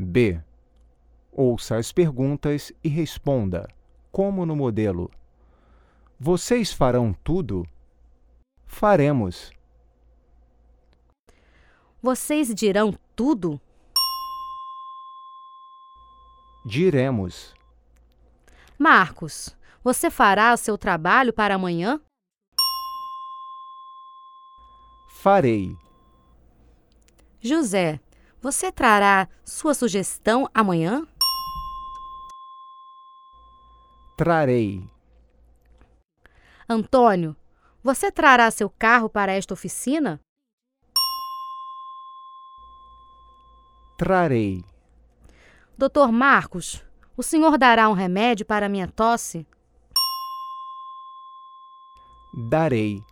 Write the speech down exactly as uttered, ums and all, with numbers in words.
B. Ouça as perguntas e responda, como no modelo. Vocês farão tudo? Faremos. Vocês dirão tudo? Diremos. Marcos, você fará o seu trabalho para amanhã? Farei. José, você trará sua sugestão amanhã? Trarei. Antônio, você trará seu carro para esta oficina? Trarei. doutor Marcos, o senhor dará um remédio para minha tosse? Darei.